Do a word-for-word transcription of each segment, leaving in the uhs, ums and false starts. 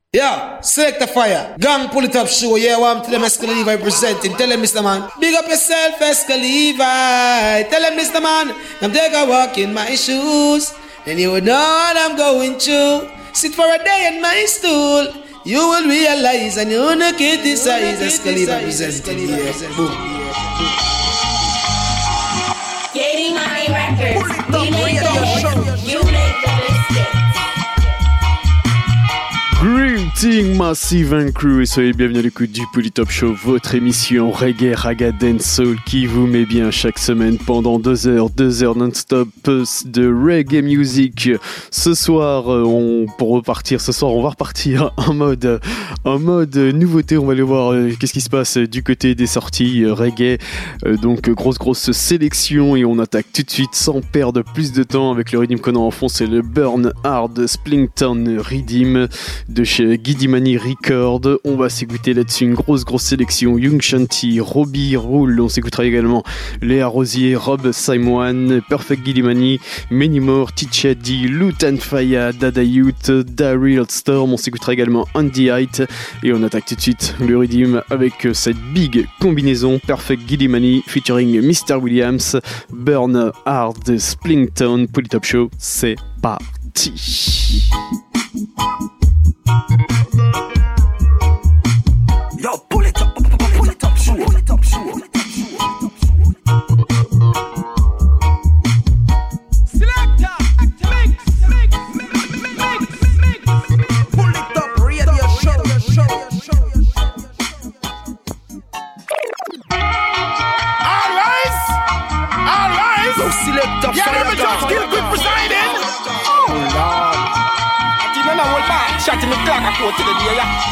Yeah, select the fire. Gang pull it up show. Yeah, I'm tell them Esca Levi presenting. Tell them, Mister Man. Big up yourself, Esca Levi. Tell them, Mister Man. I'm take a walk in my shoes. And you would know what I'm going through. Sit for a day in my stool. You will realize and you wanna criticize Esca Levi presenting. Yeah, boom. Getting my records. We make the hits. You make the biscuits. Greeting Massive and Crew et soyez bienvenus à l'écoute du Polytop Show, votre émission reggae, raga, dancehall qui vous met bien chaque semaine pendant deux heures, deux heures non-stop de reggae music. Ce soir, on, pour repartir, ce soir on va repartir en mode, en mode nouveauté. On va aller voir euh, qu'est-ce qui se passe du côté des sorties euh, reggae. Euh, donc grosse grosse sélection et on attaque tout de suite sans perdre plus de temps avec le rythme qu'on a en fond. C'est le Burn Hard Splington Rhythm de chez Gidimani Record. On va s'écouter là-dessus une grosse grosse sélection. Young Shanti, Robbie Rule, on s'écoutera également Léa Rosier, Rob Simon, Perfect Gidimani, Many More, Ticha D, Lutan Faya, Dada Youth, Daryl Storm, on s'écoutera également Andy Height et on attaque tout de suite le rythme avec cette big combinaison Perfect Gidimani featuring mister Williams, Burn Hard Splington. Polytop Show, c'est parti. Yo, pull it up, pull it up, show, pull it up, show. Selector, mix, mix, mix, mix, mix. Pull it up, radio show, show, show. All rise, all rise. Go selector, yeah, let me just kill quick presiding. Oh Lord, I didn't know what back. Shot in the clock, I go to the day, yeah.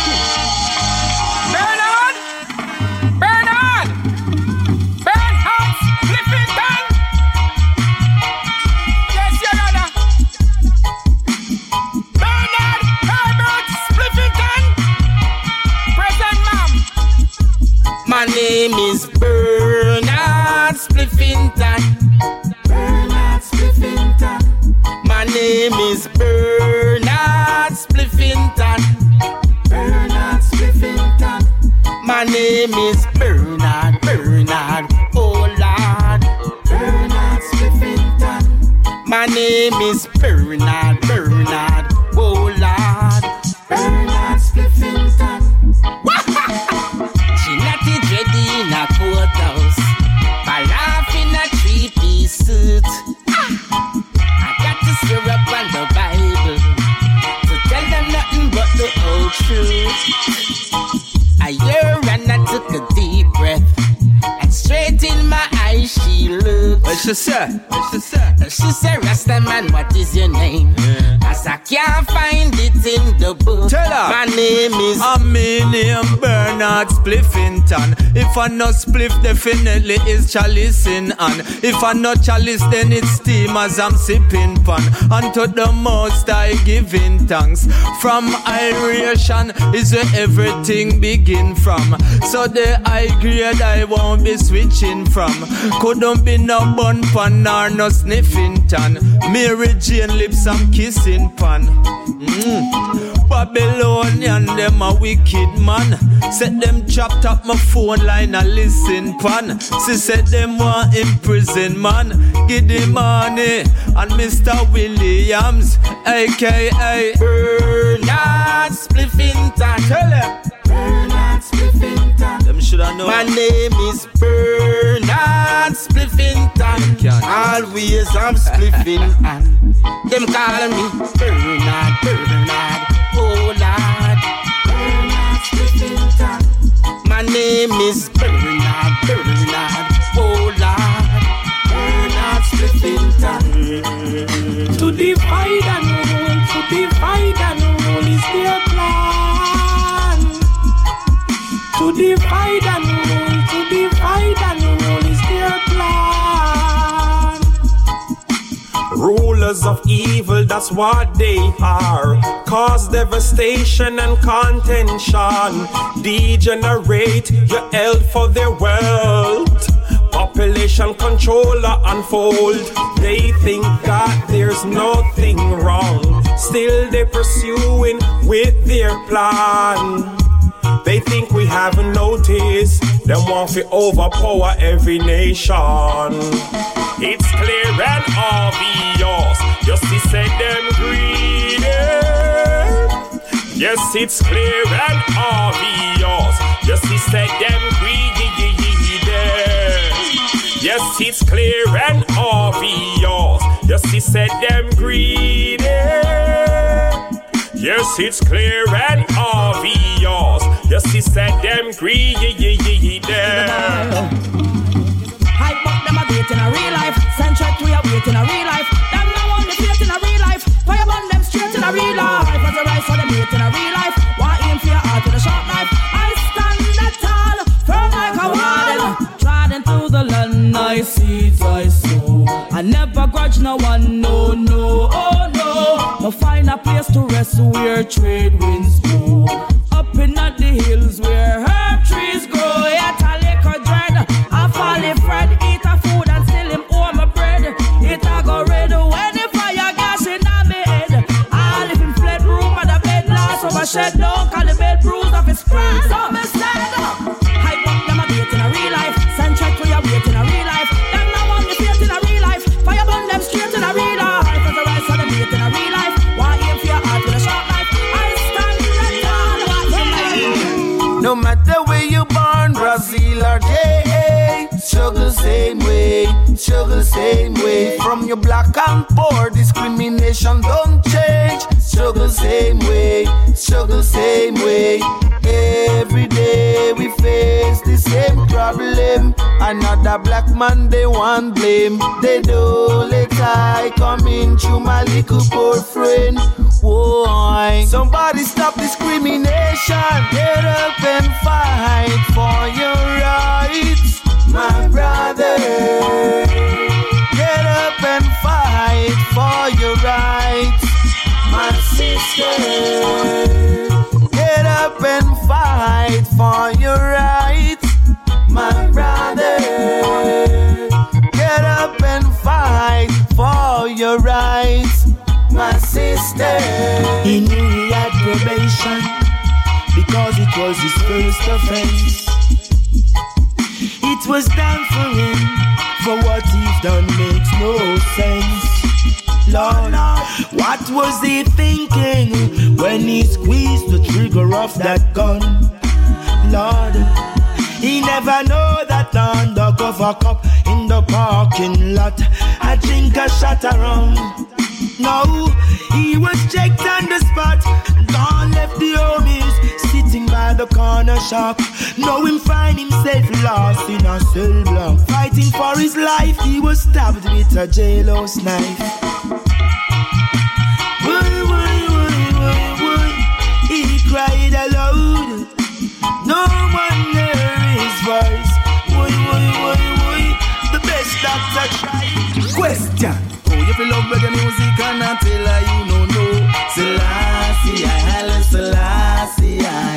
My name is Bernard Spliffington. Bernard Spliffington. My name is Bernard Spliffington. Bernard Spliffington. My name is Bernard, Bernard, oh Lord. Bernard Spliffington. My name is Bernard, Bernard, oh Lord. Bernard Spliffington. In a courthouse, I laugh in a three-piece suit. I got to stir up on the Bible to tell them nothing but the whole truth. I hear and I took a deep breath, and straight in my eyes she looked. What she said? What she said? She said, Rasta man, what is your name? Yeah. As I can't find it in the book. Tell her. My name is I'm my name Bernard Spliffington. If I not spliff, definitely is chalice in hand. If I not chalice, then it's steam as I'm sipping pan. And to the most I giving thanks. From iration is where everything begin from. So the high grade I won't be switching from. Couldn't be no bun pan nor no sniffing tan. Mary Jane lips I'm kissing pan. Mm. Babylonian them a wicked man. Set them chopped up my phone line and listen pan. She said them want in prison man. Give the money and Mister Williams, aka Bernard Spliffington. Tell them Bernard Spliffington. Them shoulda know. My name is Bernard Spliffington. Always I'm spliffing and them call me Bernard, Bernard, oh Lord. Bernard Spliffington. My name is Bernard, Bernard, oh Lord. Bernard Spliffington. To divide and rule, to divide and rule is their plan. To divide and rule, to divide and rule is their plan. Rulers of evil, that's what they are. Cause devastation and contention. Degenerate your health for their wealth. Population controller unfold. They think that there's nothing wrong. Still they pursuing with their plan. They think we haven't noticed. Them want to overpower every nation. It's clear and obvious. Justice said them greedy. Yes, it's clear and obvious. Justice said them greedy. Yes, it's clear and obvious. Justice said them greedy. Yes, it's clear and obvious. Justice said them greedy. Hype up them a wait in a real life. Centric we a wait in a real life. Them no want the faith in a real life. Fire burn them straight in a real life. As the rise for them wait in a real life. Why aim for your heart with a sharp knife? I stand that tall, firm like a wall. Trodden through the land, I seeds I sow. I never grudge no one, no, no, oh no. No find a place to rest where trade winds blow. Up in at the hills where herb trees grow. Yet a liquor dread, a folly friend. Eat a food and still him owe my bread. It a go red when the fire gas in a me head. I live in fled room and the bed last over shed down. Call the bed bruise of his friend. So me stand up. Hype up them a wait in a real life. Centric we a wait in a real life. Them no want the faith in a real life. Fire burn them straight in a real life. As the rise for them wait in a real life. Why aim for your heart with a sharp knife? I stand that tall. No matter where you born, Brazil or J A, struggle same way, struggle same way. From your black and poor, discrimination don't change. Struggle same way, struggle same way. Every day we face the same problem. Another black man they want blame. They don't let I come in through my little poor friend. Why? Somebody stop discrimination. Get up and fight for your rights, my brother. Get up and fight for your rights, my sister. Get up and fight for your rights, my brother. Get up and fight for your rights, my sister. He knew he had probation because it was his first offense. It was done for him, for what he's done makes no sense. Lord, what was he thinking when he squeezed the trigger of that gun? Lord, he never know that undercover cop in the parking lot I drink a shot around. No, he was checked on the spot. Gone left the homies sitting by the corner shop. Know him find himself lost in a cell block. Fighting for his life, he was stabbed with a jailhouse knife. Woy, woy, woy, woy, woy. He cried aloud. No one heard his voice. Woy, woy, woy, woy. The best doctor tried. Question. Oh, you feel love reggae music and I tell her you no know. Selassie, I, Haile Selassie, I.